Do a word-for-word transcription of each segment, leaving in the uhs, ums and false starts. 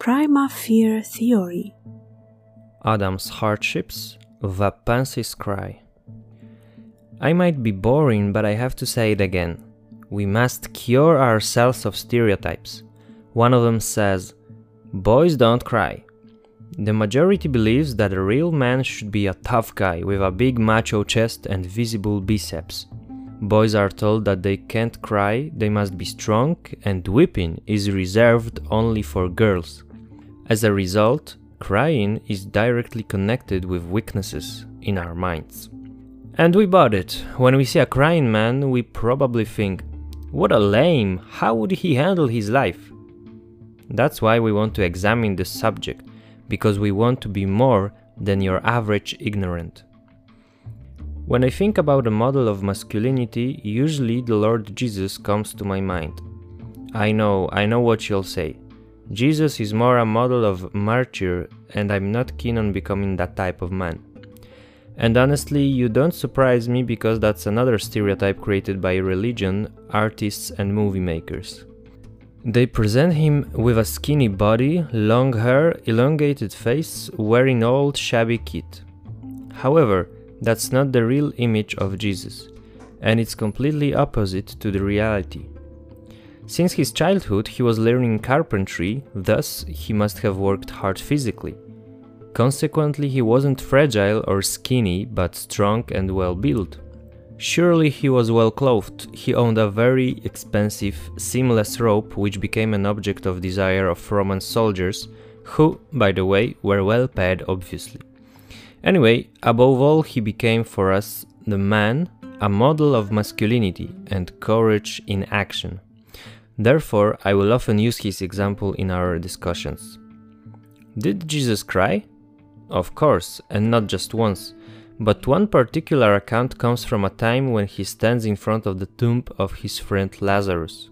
Prima Fear Theory. Adam's Hardships, The Pansy's Cry. I might be boring, but I have to say it again. We must cure ourselves of stereotypes. One of them says, "Boys don't cry." The majority believes that a real man should be a tough guy with a big macho chest and visible biceps. Boys are told that they can't cry, they must be strong, and whipping is reserved only for girls. As a result, crying is directly connected with weaknesses in our minds. And we bought it. When we see a crying man, we probably think, what a lame, how would he handle his life? That's why we want to examine this subject, because we want to be more than your average ignorant. When I think about a model of masculinity, usually the Lord Jesus comes to my mind. I know, I know what you'll say. Jesus is more a model of martyr, and I'm not keen on becoming that type of man. And honestly, you don't surprise me because that's another stereotype created by religion, artists and movie makers. They present him with a skinny body, long hair, elongated face, wearing old shabby kit. However, that's not the real image of Jesus, and it's completely opposite to the reality. Since his childhood, he was learning carpentry, thus he must have worked hard physically. Consequently, he wasn't fragile or skinny, but strong and well-built. Surely he was well-clothed. He owned a very expensive, seamless robe which became an object of desire of Roman soldiers, who, by the way, were well-paid obviously. Anyway, above all, he became for us, the man, a model of masculinity and courage in action. Therefore, I will often use his example in our discussions. Did Jesus cry? Of course, and not just once, but one particular account comes from a time when he stands in front of the tomb of his friend Lazarus.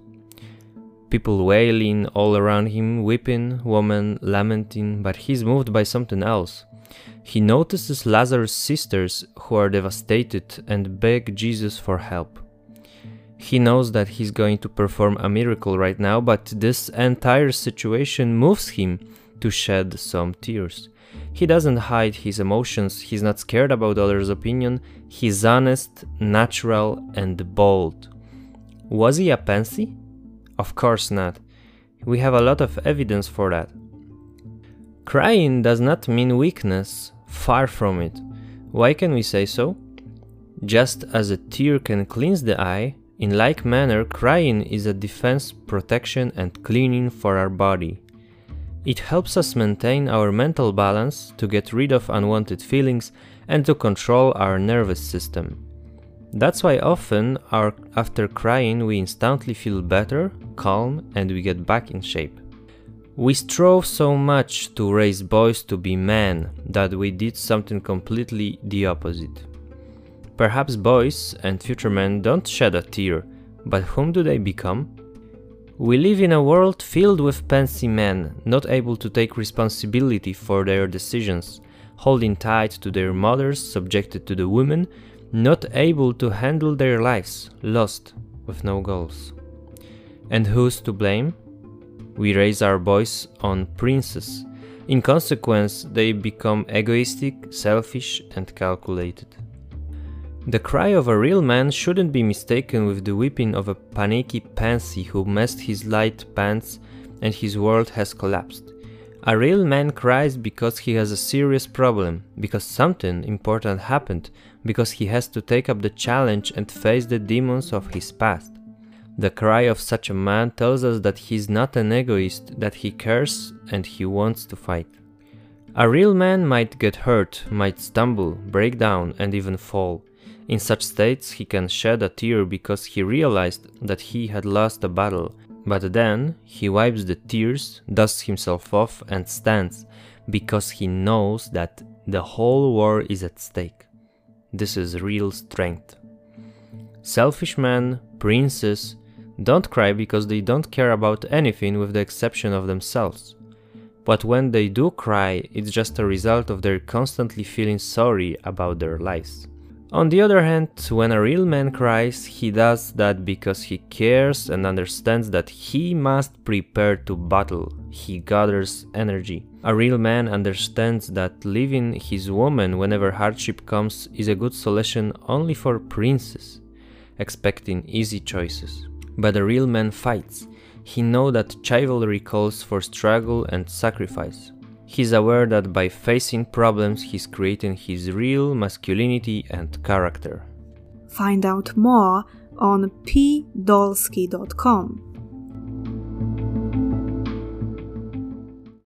People wailing all around him, weeping, women lamenting, but he's moved by something else. He notices Lazarus' sisters who are devastated and beg Jesus for help. He knows that he's going to perform a miracle right now, but this entire situation moves him to shed some tears. He doesn't hide his emotions, he's not scared about others' opinion, he's honest, natural, and bold. Was he a pansy? Of course not. We have a lot of evidence for that. Crying does not mean weakness, far from it. Why can we say so? Just as a tear can cleanse the eye, in like manner crying is a defense, protection, and cleaning for our body. It helps us maintain our mental balance, to get rid of unwanted feelings, and to control our nervous system. That's why often, our, after crying, we instantly feel better, calm, and we get back in shape. We strove so much to raise boys to be men that we did something completely the opposite. Perhaps boys and future men don't shed a tear, but whom do they become? We live in a world filled with pansy men, not able to take responsibility for their decisions, holding tight to their mothers, subjected to the women, not able to handle their lives, lost, with no goals. And who's to blame? We raise our boys on princes. In consequence, they become egoistic, selfish, and calculated. The cry of a real man shouldn't be mistaken with the weeping of a panicky pansy who messed his light pants and his world has collapsed. A real man cries because he has a serious problem, because something important happened, because he has to take up the challenge and face the demons of his past. The cry of such a man tells us that he's not an egoist, that he cares and he wants to fight. A real man might get hurt, might stumble, break down, and even fall. In such states, he can shed a tear because he realized that he had lost a battle, but then he wipes the tears, dusts himself off, and stands, because he knows that the whole war is at stake. This is real strength. Selfish men, princes, don't cry because they don't care about anything with the exception of themselves. But when they do cry, it's just a result of their constantly feeling sorry about their lives. On the other hand, when a real man cries, he does that because he cares and understands that he must prepare to battle. He gathers energy. A real man understands that leaving his woman whenever hardship comes is a good solution only for princes, expecting easy choices. But a real man fights. He knows that chivalry calls for struggle and sacrifice. He's aware that by facing problems, he's creating his real masculinity and character. Find out more on p dolsky dot com.